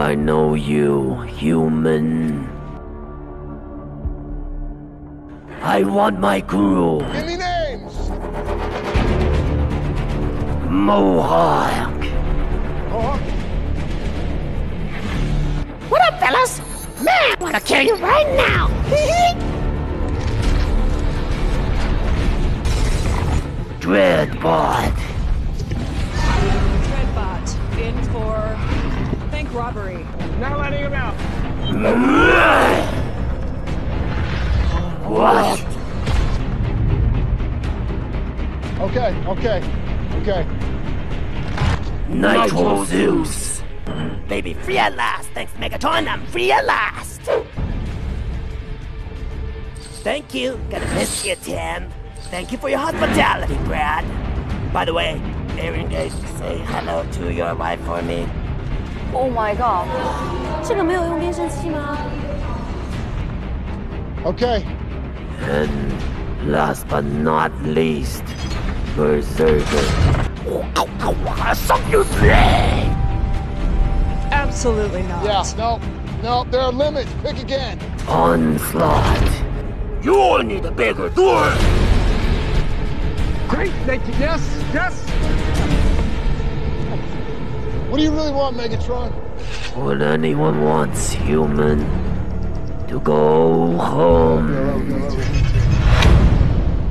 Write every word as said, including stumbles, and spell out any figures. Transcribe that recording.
I know you, human. I want my crew. Give me names! Mohawk. Mohawk? What up, fellas? Man, I wanna kill you right now! Dreadbot. Dreadbot, in for bank robbery. Not letting him out. What? Okay, okay, okay. Nitro Zeus. Baby, free at last! Thanks, Megatron, I'm free at last! Thank you, gonna miss you, Tim. Thank you for your hospitality, Brad. By the way, Aaron Gage, say hello to your wife for me. Oh my god，这个没有用变声器吗？ Okay. And last but not least, Berserker. I suck you today! Absolutely not. Yeah, no, no, there are limits. Pick again. Onslaught. You need a bigger door! Great, thank you. Yes, yes. What do you really want, Megatron? What anyone wants, human. To go home.